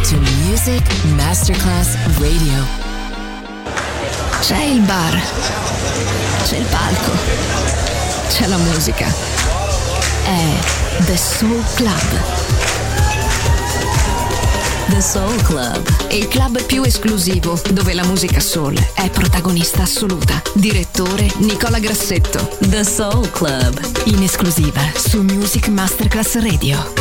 to Music Masterclass Radio. C'è il bar, c'è il palco, c'è la musica. È The Soul Club. The Soul Club, Il club più esclusivo dove la musica soul è protagonista assoluta. Direttore Nicola Grassetto. The Soul Club, In esclusiva su Music Masterclass Radio.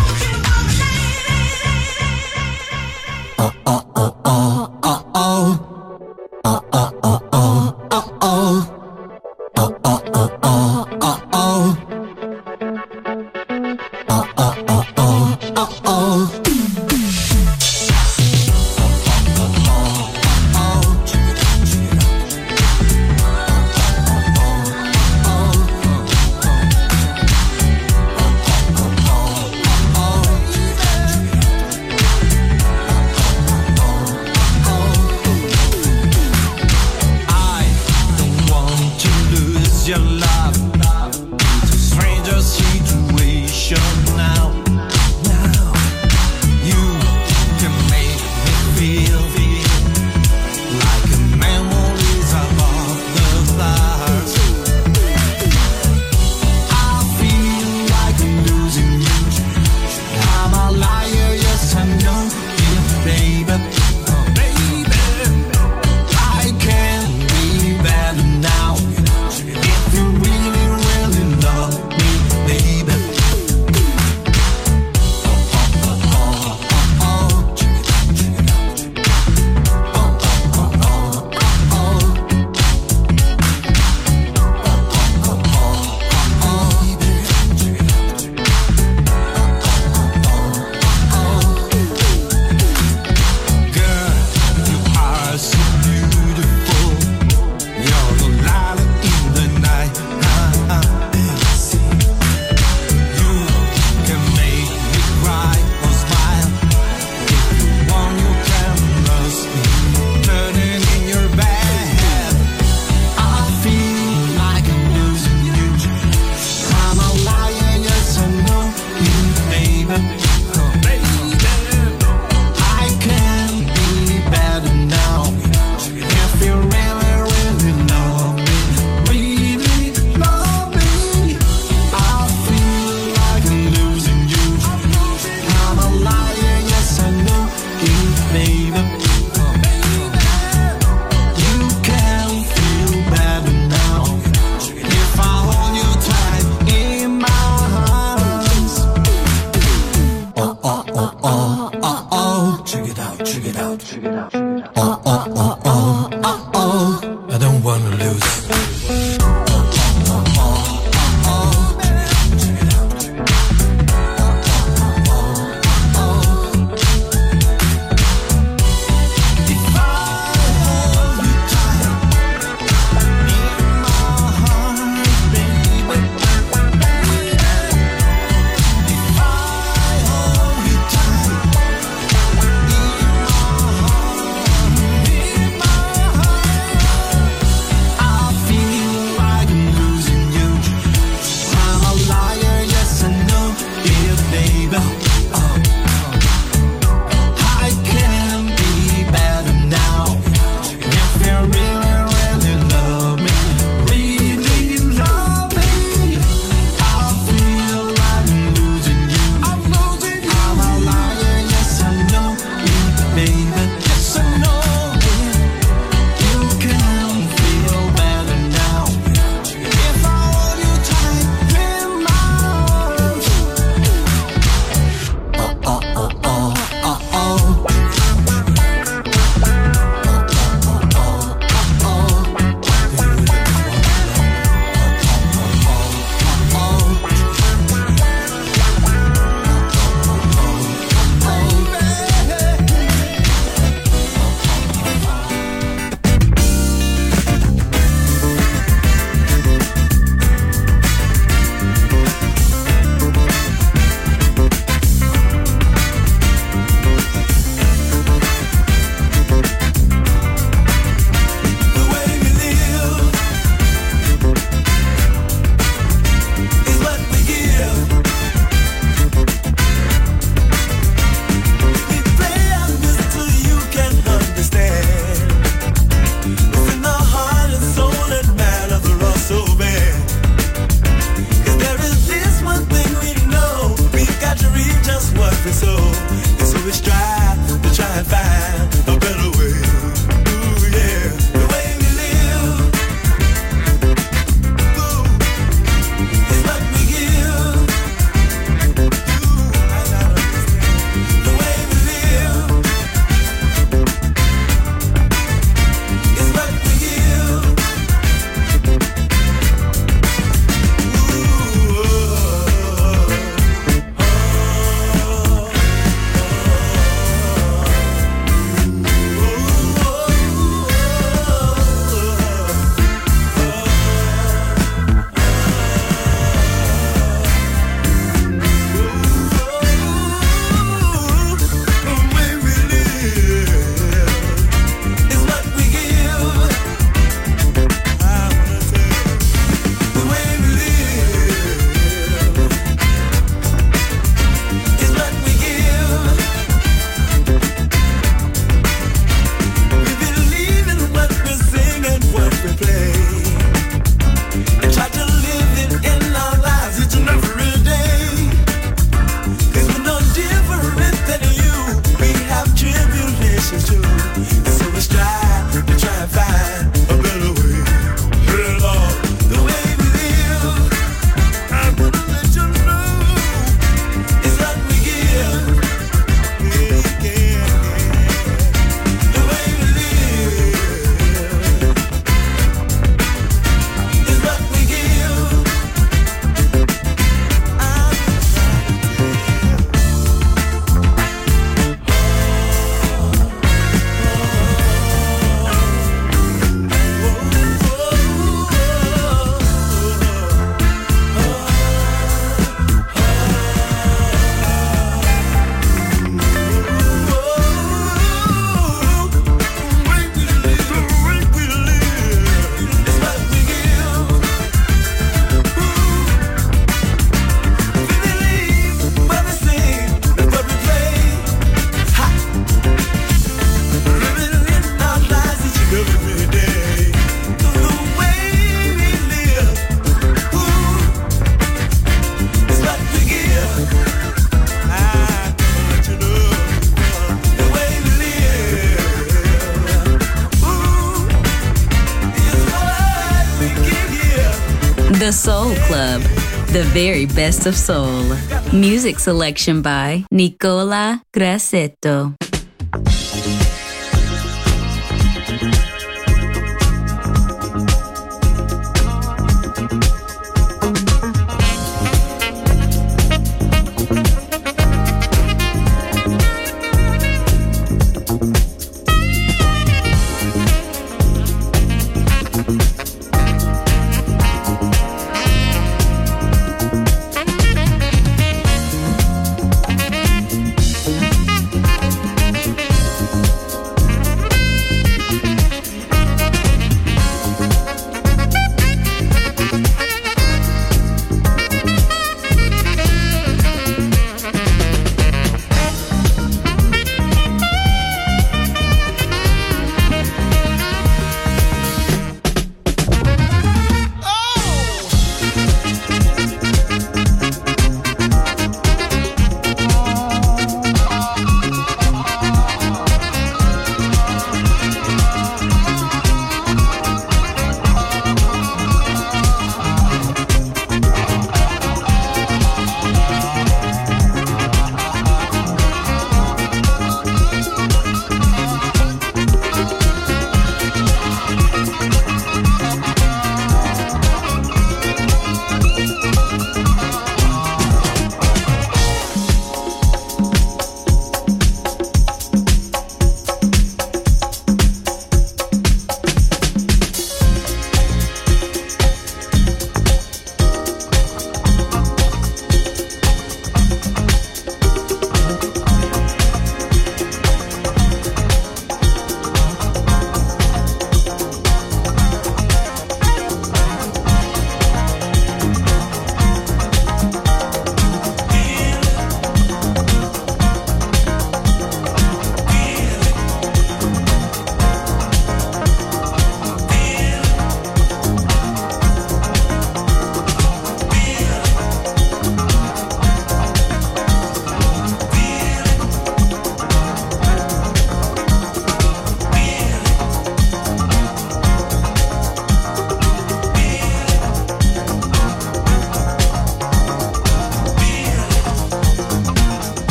The Soul Club, the very best of soul. Music selection by Nicola Grassetto.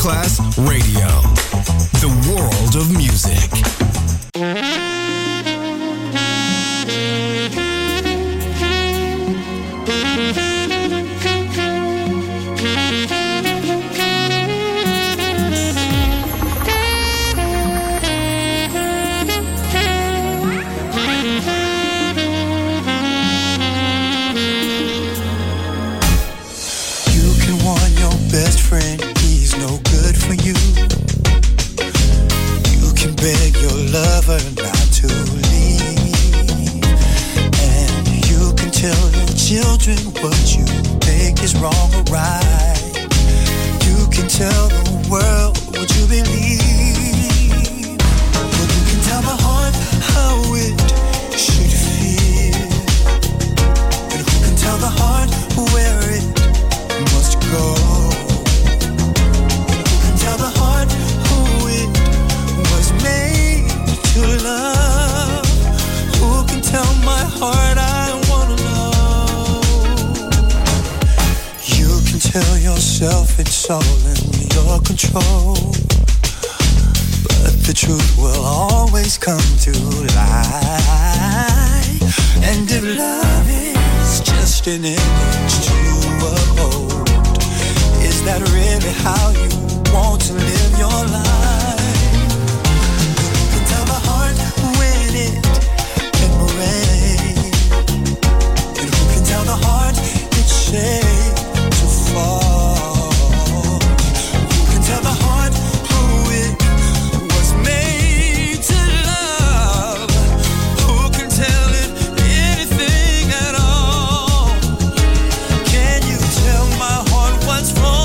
Class Radio. The world of music. Best friend, he's no good for you. You can beg your lover not to leave, and you can tell your children what you think is wrong or right. You can tell the world what you believe, but you can tell the heart how it should feel, and who can tell the heart where it must go? Tell the heart who it was made to love. Who can tell my heart I wanna know? You can tell yourself it's all in your control, but the truth will always come to light. And if love is just an image to uphold, is that really how you want to live your life? You can tell the heart when it can rain, and who can tell the heart it's safe to fall? Who can tell the heart who it was made to love? Who can tell it anything at all? Can you tell my heart what's wrong?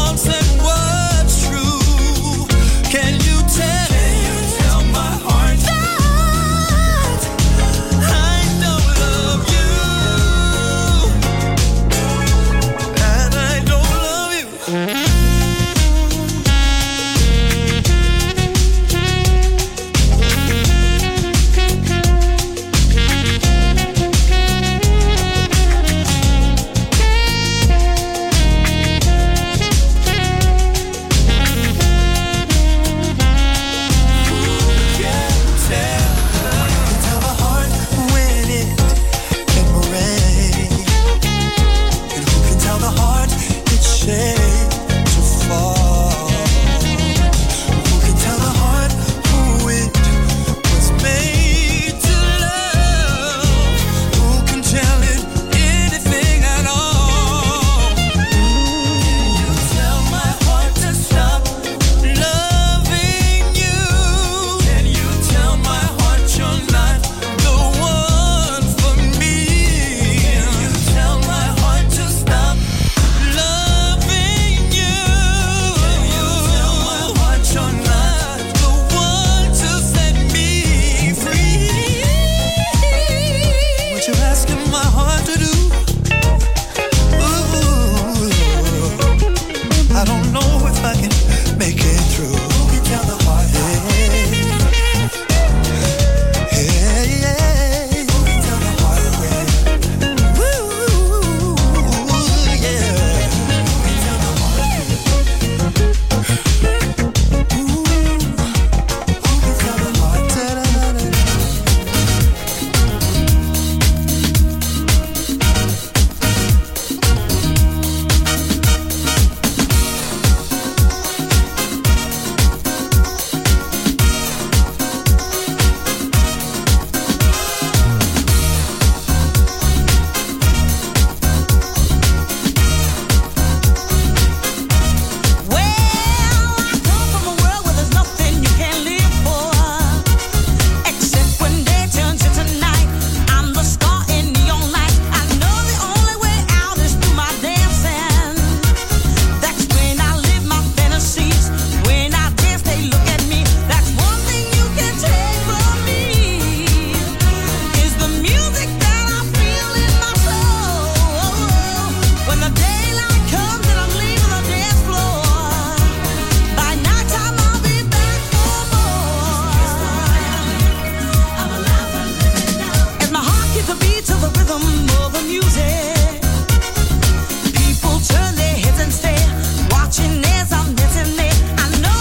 Watching as I'm dancing there, I know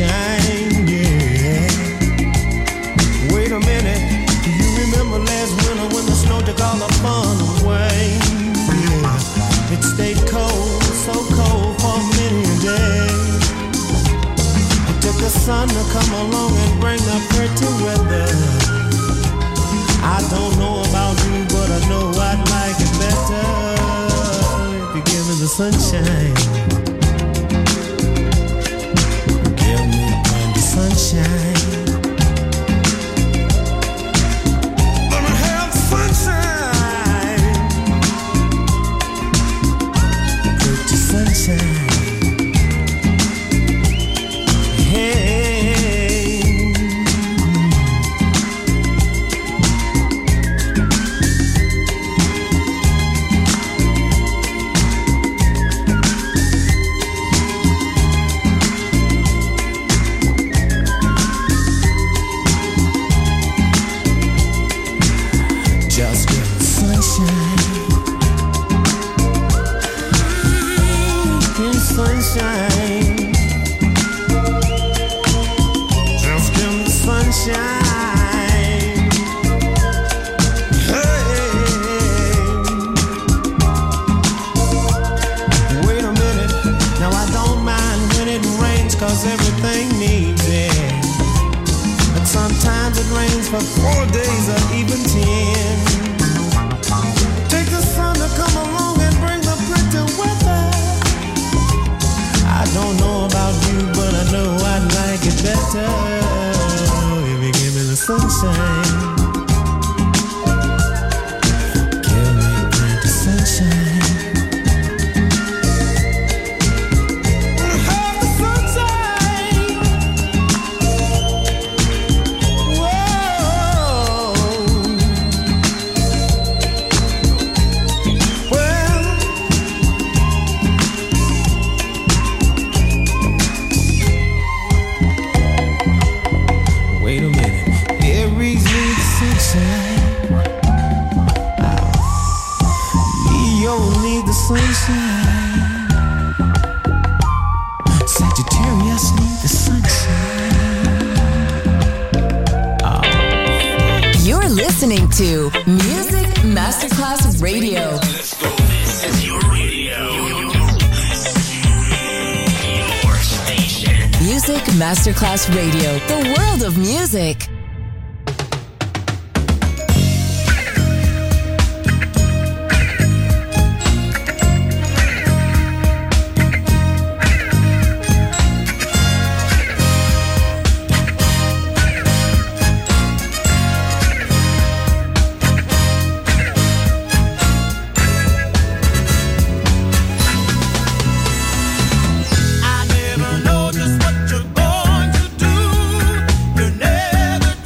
sunshine, yeah. Wait a minute, do you remember last winter when the snow took all the fun away? Yeah, it stayed cold, so cold for many a day. It took the sun to come along and bring the pretty weather. I don't know about you, but I know I'd like it better if you give me the sunshine. Give me the sunshine. Let me have the sunshine. Pretty sunshine. Sunshine, just give me the sunshine. Hey, wait a minute, now I don't mind when it rains, cause everything needs it. But sometimes it rains for 4 days or even 10. Take the sun to come along and bring the pretty weather. I don't know about you, but I know I'd like it better if you give me the sunshine. Give me the sunshine. Have the sunshine. Whoa. Well, wait a minute, Aries needs sunshine. Leo needs the sunshine. Sagittarius needs the sunshine. You're listening to Music Masterclass Radio. Let's go. This is your radio. Your station. Music Masterclass Radio. The world of music. I never know just what you're going to do. You never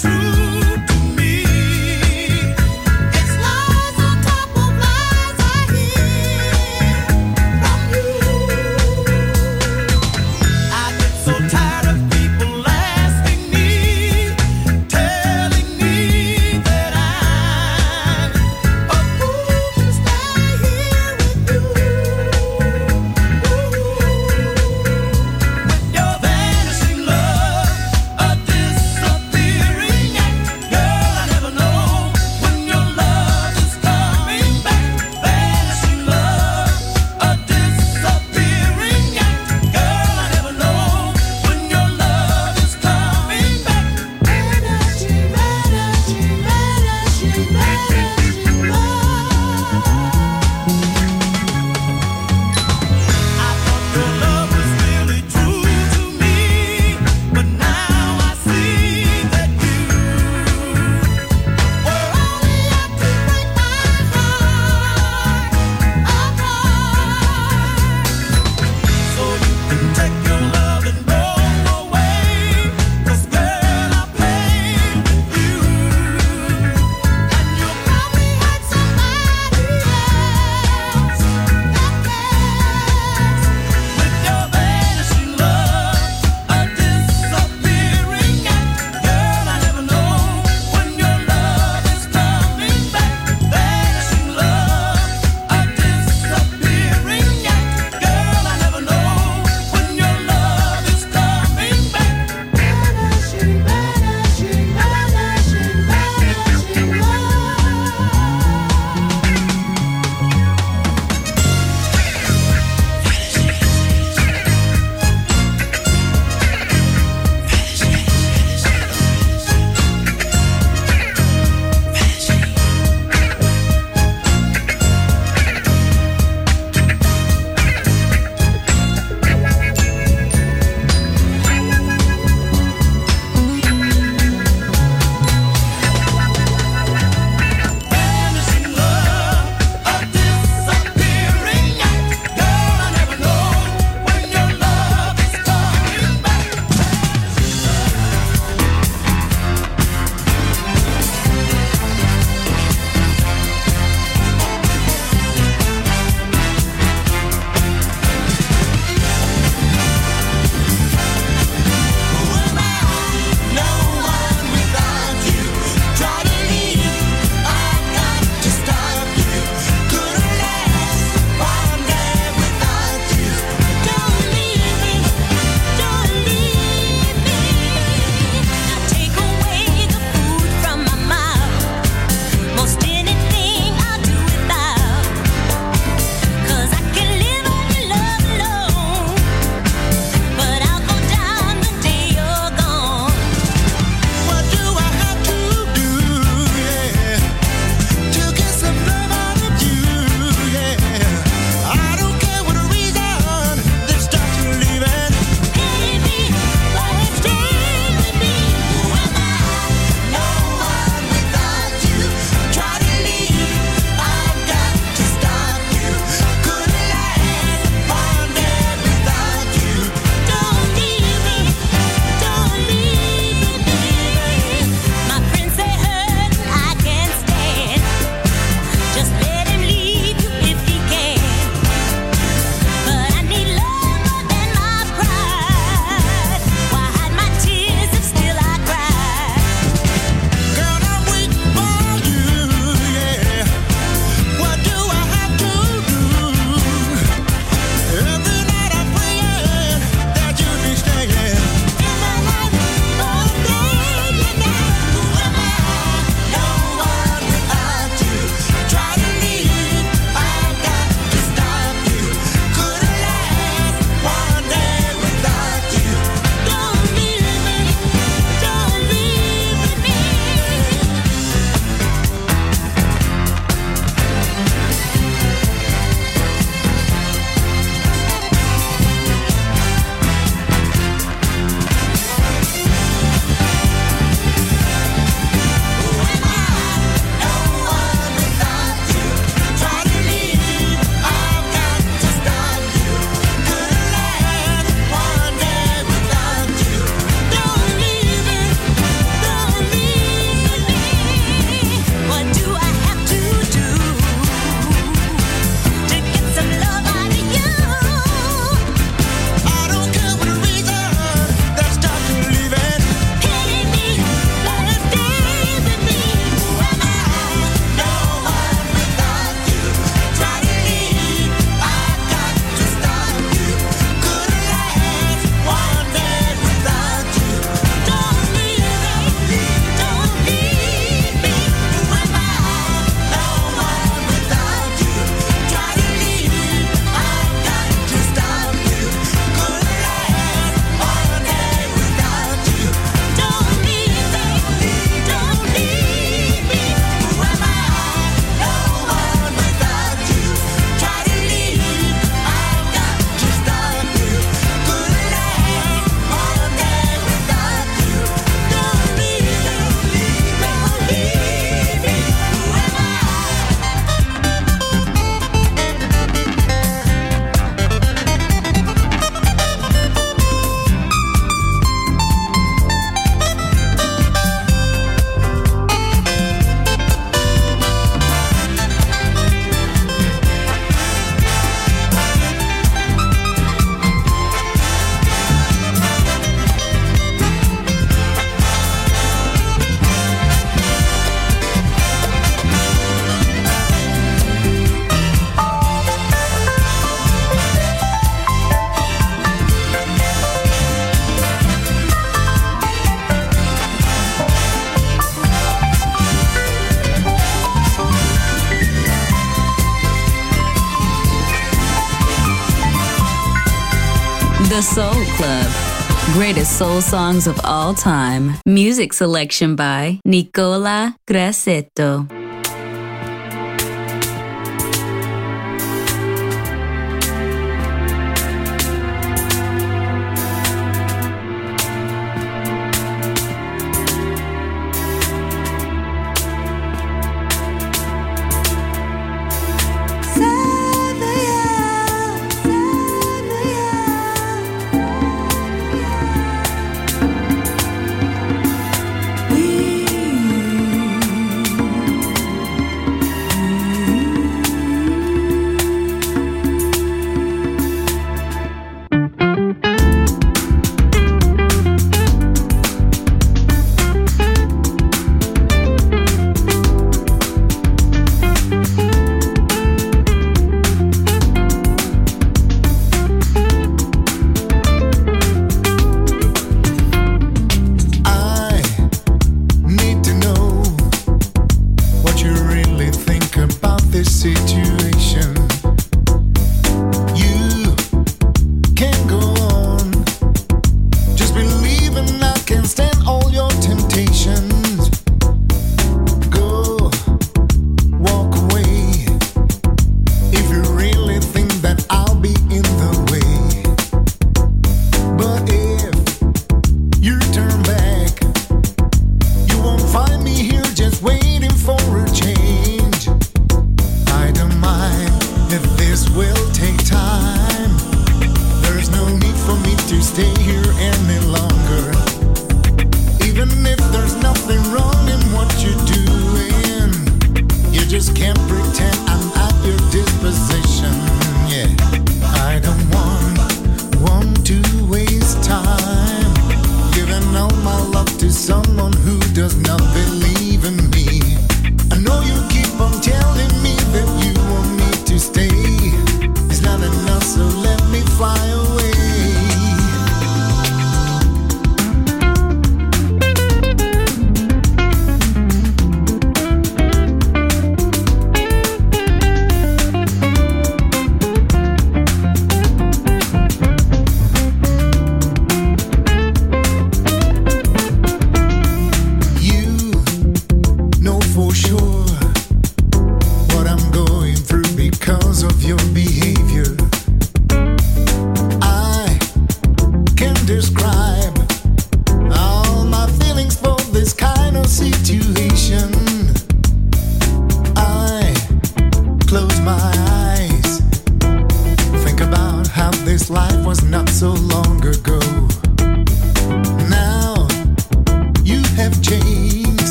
The Soul Club. Greatest soul songs of all time. Music selection by Nicola Grassetto.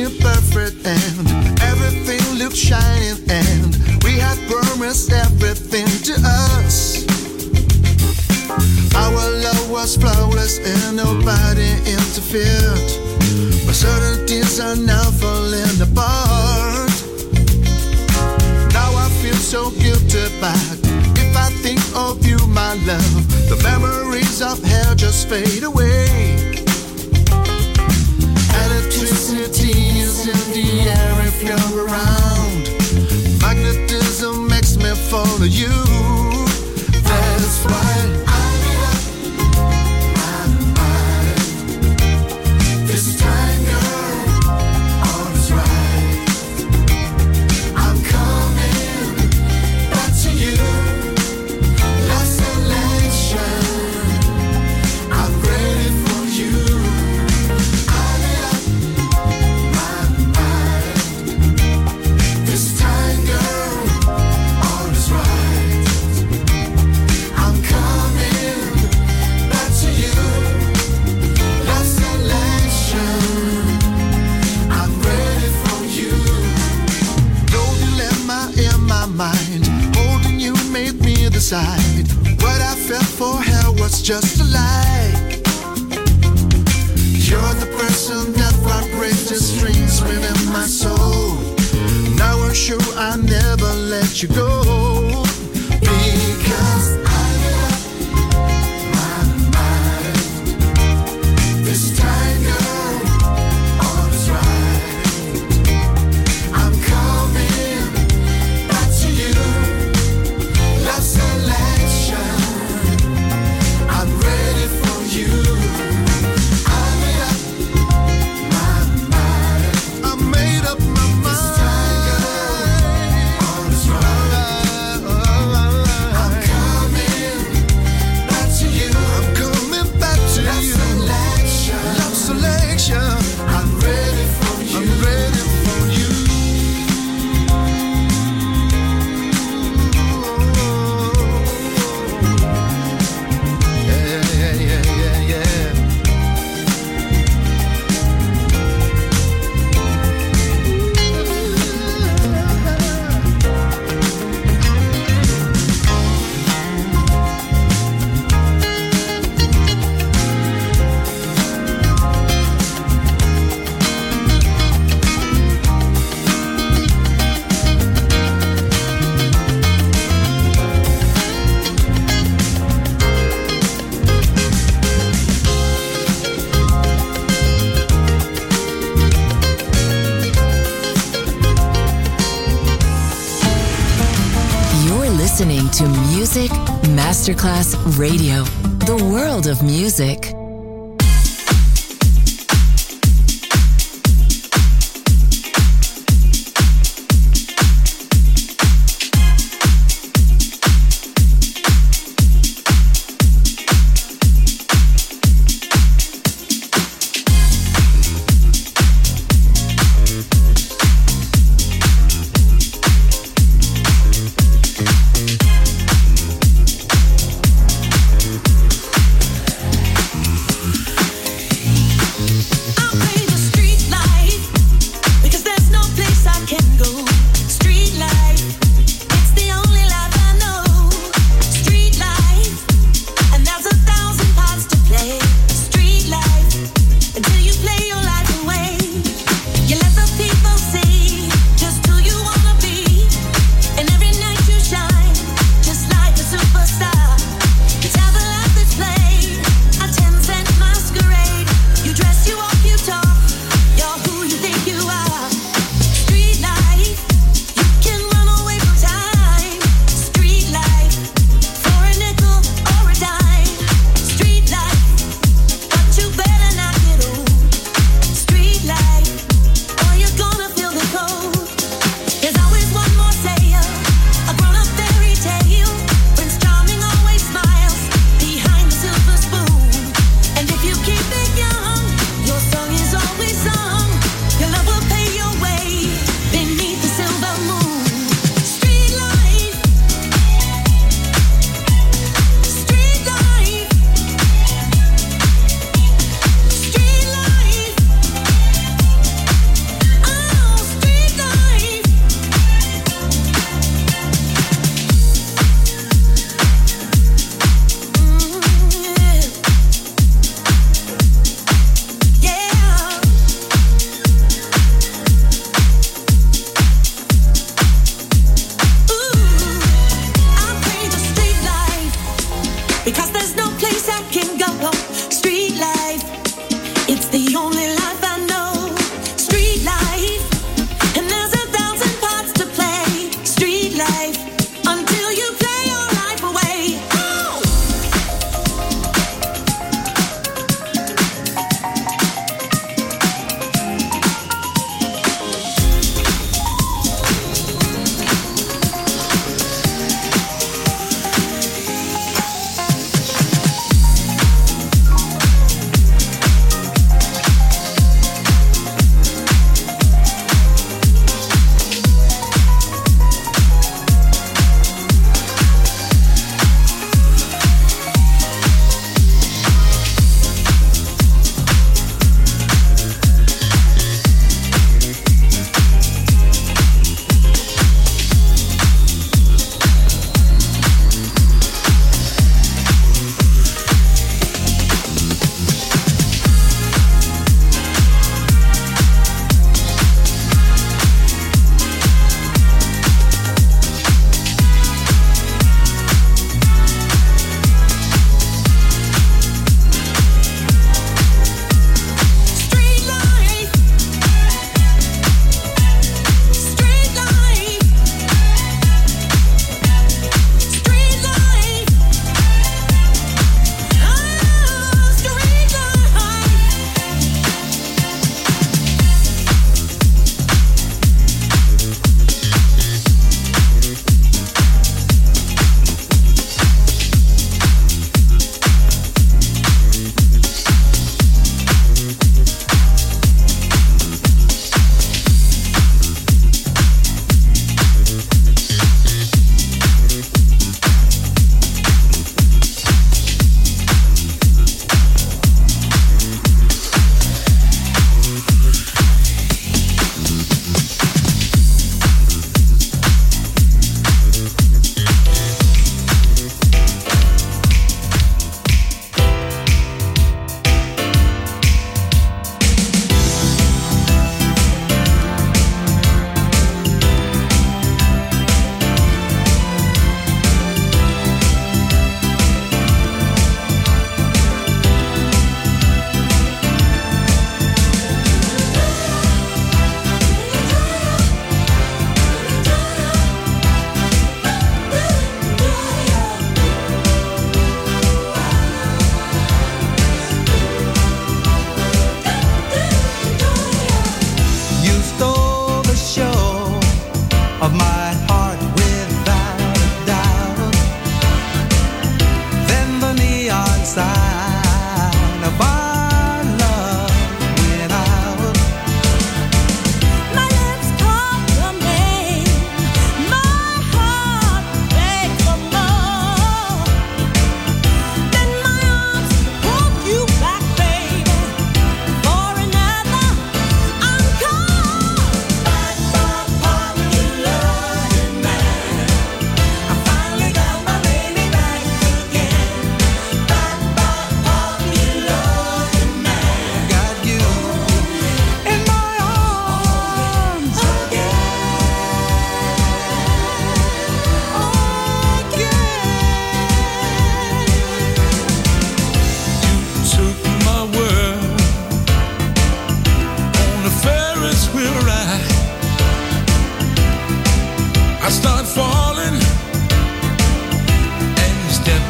seemed perfect and everything looked shining, and we had promised everything to us. Our love was flawless and nobody interfered, but certain things are now falling apart. Now I feel so guilty back. If I think of you, my love, the memories of hell just fade away. Electricity is in the air if you're around. Magnetism makes me follow you. That's why what I felt for her was just a lie. You're the person that vibrates the strings within my soul. Now I'm sure I'll never let you go, because I love my mind. This time, girl, all is right. I'm coming back to you. Love selection, I'm ready for you. I made up my mind. I made up my mind. This time, girl, all is right. I'm coming back to you. I'm coming back to you. Love selection, I'm ready for you. I'm ready for you. Listening to Music Masterclass Radio, the world of music.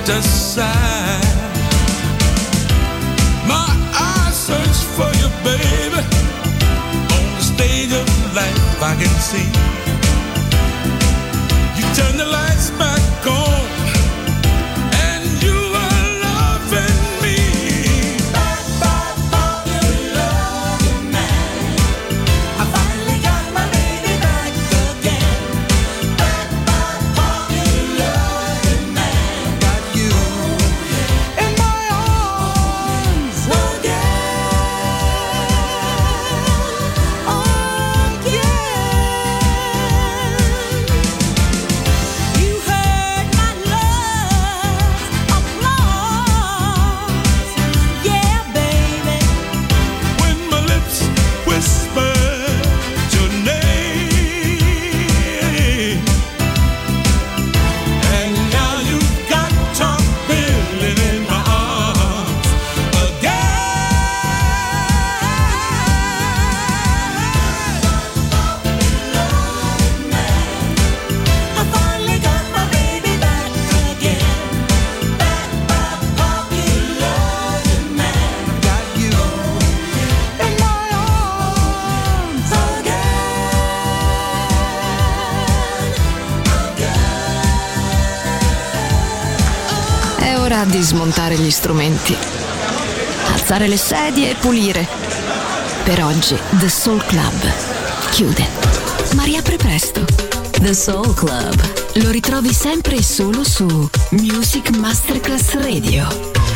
aside. My eyes search for you, baby. On the stage of life I can see. You turn the lights back on. Di smontare gli strumenti, alzare le sedie e pulire. Per oggi The Soul Club chiude, ma riapre presto. The Soul Club lo ritrovi sempre e solo su Music Masterclass Radio.